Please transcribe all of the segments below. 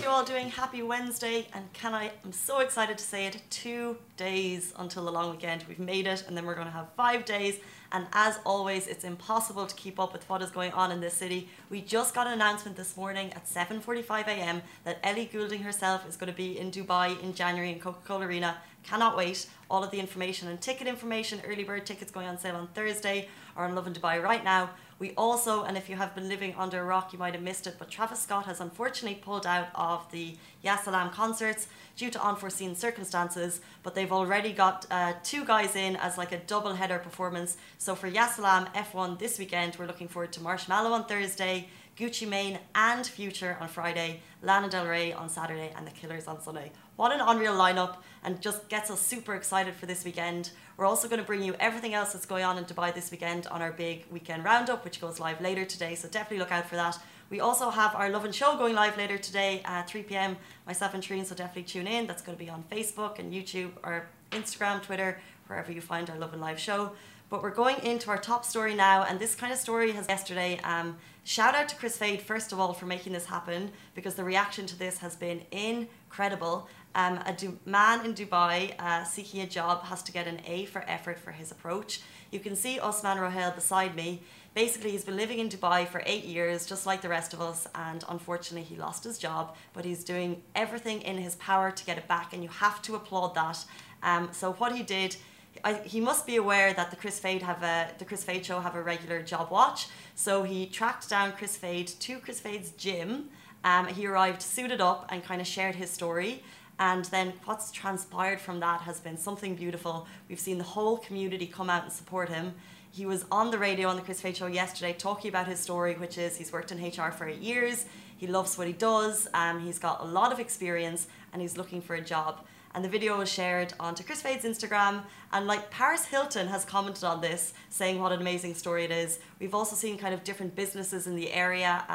you all doing? Happy Wednesday, and I'm so excited to say it, 2 days until the long weekend. We've made it, and then we're going to have 5 days, and as always, it's impossible to keep up with what is going on in this city. We just got an announcement this morning at 7:45 a.m. that Ellie Goulding herself is going to be in Dubai in January in Coca-Cola Arena. Cannot wait. All of the information and ticket information, early bird tickets going on sale on Thursday, are on Lovin Dubai right now. We also, and if you have been living under a rock, you might have missed it, but Travis Scott has unfortunately pulled out of the Yasalam concerts due to unforeseen circumstances, but they've already got 2 guys in as like a double header performance. So for Yasalam F1 this weekend, we're looking forward to Marshmallow on Thursday, Gucci Mane and Future on Friday, Lana Del Rey on Saturday, and The Killers on Sunday. What an unreal lineup, and just gets us super excited for this weekend. We're also going to bring you everything else that's going on in Dubai this weekend on our big weekend roundup, which goes live later today, so definitely look out for that. We also have our Lovin Show going live later today at 3 p.m, myself and Trine, so definitely tune in. That's going to be on Facebook and YouTube or Instagram, Twitter, wherever you find our Lovin Live show. But we're going into our top story now, and this kind of story has yesterday. Shout out to Chris Fade, first of all, for making this happen, because the reaction to this has been incredible. A man in Dubai seeking a job has to get an A for effort for his approach. You can see Osman Rohail beside me. Basically, he's been living in Dubai for 8 years, just like the rest of us, and unfortunately he lost his job, but he's doing everything in his power to get it back, and you have to applaud that. So what he did, he must be aware that the Chris Fade show have a regular job watch. So he tracked down Chris Fade to Chris Fade's gym. He arrived suited up and kind of shared his story. And then what's transpired from that has been something beautiful. We've seen the whole community come out and support him. He was on the radio on the Chris Fade show yesterday talking about his story, which is he's worked in HR for 8 years. He loves what he does. He's got a lot of experience and he's looking for a job. And the video was shared onto Chris Fade's Instagram, and like Paris Hilton has commented on this, saying what an amazing story it is. We've also seen kind of different businesses in the area.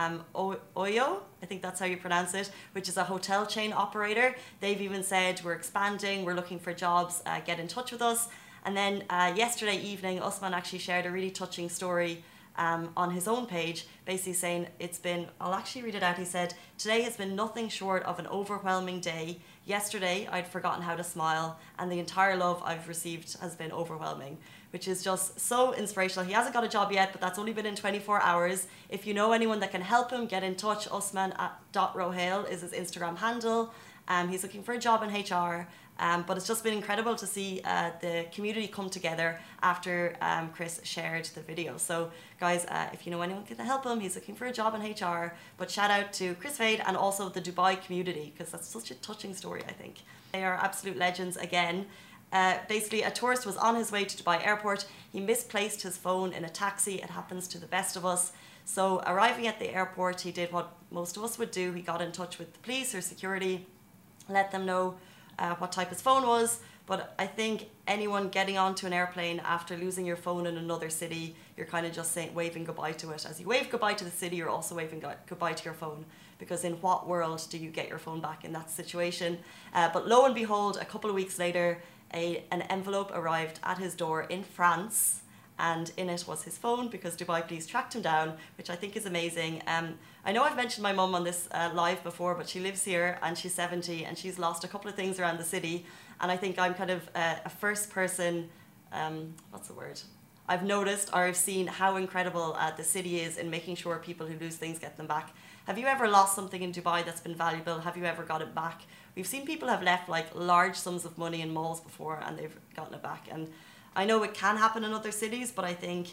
Oyo, I think that's how you pronounce it, which is a hotel chain operator. They've even said, we're expanding, we're looking for jobs, get in touch with us. And then yesterday evening, Osman actually shared a really touching story on his own page, basically saying I'll actually read it out. He said, "Today has been nothing short of an overwhelming day. Yesterday, I'd forgotten how to smile, and the entire love I've received has been overwhelming," which is just so inspirational. He hasn't got a job yet, but that's only been in 24 hours. If you know anyone that can help him, get in touch. Osman.Rohail is his Instagram handle. He's looking for a job in HR. But it's just been incredible to see the community come together after Chris shared the video. So guys, if you know anyone can help him, he's looking for a job in HR. But shout out to Chris Fade and also the Dubai community, because that's such a touching story, I think. They are absolute legends again. Basically, a tourist was on his way to Dubai airport. He misplaced his phone in a taxi. It happens to the best of us. So arriving at the airport, he did what most of us would do. He got in touch with the police or security, let them know what type his phone was. But I think anyone getting onto an airplane after losing your phone in another city, you're kind of just waving goodbye to it. As you wave goodbye to the city, you're also waving goodbye to your phone, because in what world do you get your phone back in that situation? But lo and behold, a couple of weeks later, an envelope arrived at his door in France, and in it was his phone, because Dubai police tracked him down, which I think is amazing. I know I've mentioned my mum on this live before, but she lives here and she's 70 and she's lost a couple of things around the city. And I think I'm kind of a first person, what's the word? I've noticed or I've seen how incredible the city is in making sure people who lose things get them back. Have you ever lost something in Dubai that's been valuable? Have you ever got it back? We've seen people have left like large sums of money in malls before and they've gotten it back. And I know it can happen in other cities, but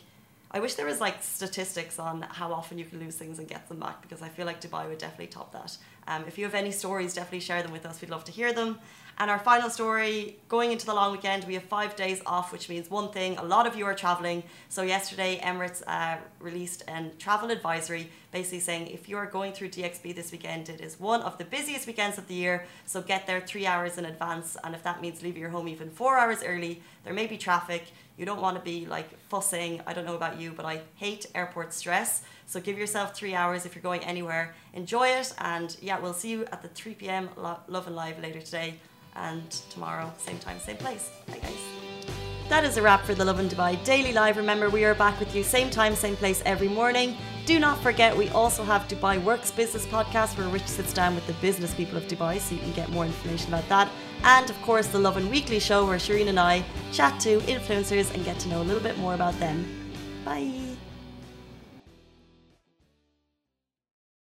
I wish there was like statistics on how often you can lose things and get them back, because I feel like Dubai would definitely top that. If you have any stories, definitely share them with us. We'd love to hear them. And our final story, going into the long weekend, we have 5 days off, which means one thing, a lot of you are traveling. So yesterday, Emirates released a travel advisory, basically saying if you are going through DXB this weekend, it is one of the busiest weekends of the year. So get there 3 hours in advance. And if that means leaving your home even 4 hours early, there may be traffic. You don't want to be like fussing. I don't know about you, but I hate airport stress. So give yourself 3 hours if you're going anywhere. Enjoy it. And yeah, we'll see you at the 3 p.m. Lovin Live later today. And tomorrow, same time, same place. Bye guys. That is a wrap for the Lovin Dubai Daily Live. Remember, we are back with you same time, same place every morning. Do not forget, we also have Dubai Works Business Podcast, where Rich sits down with the business people of Dubai, so you can get more information about that. And of course, the Lovin Weekly show, where Shireen and I chat to influencers and get to know a little bit more about them. Bye.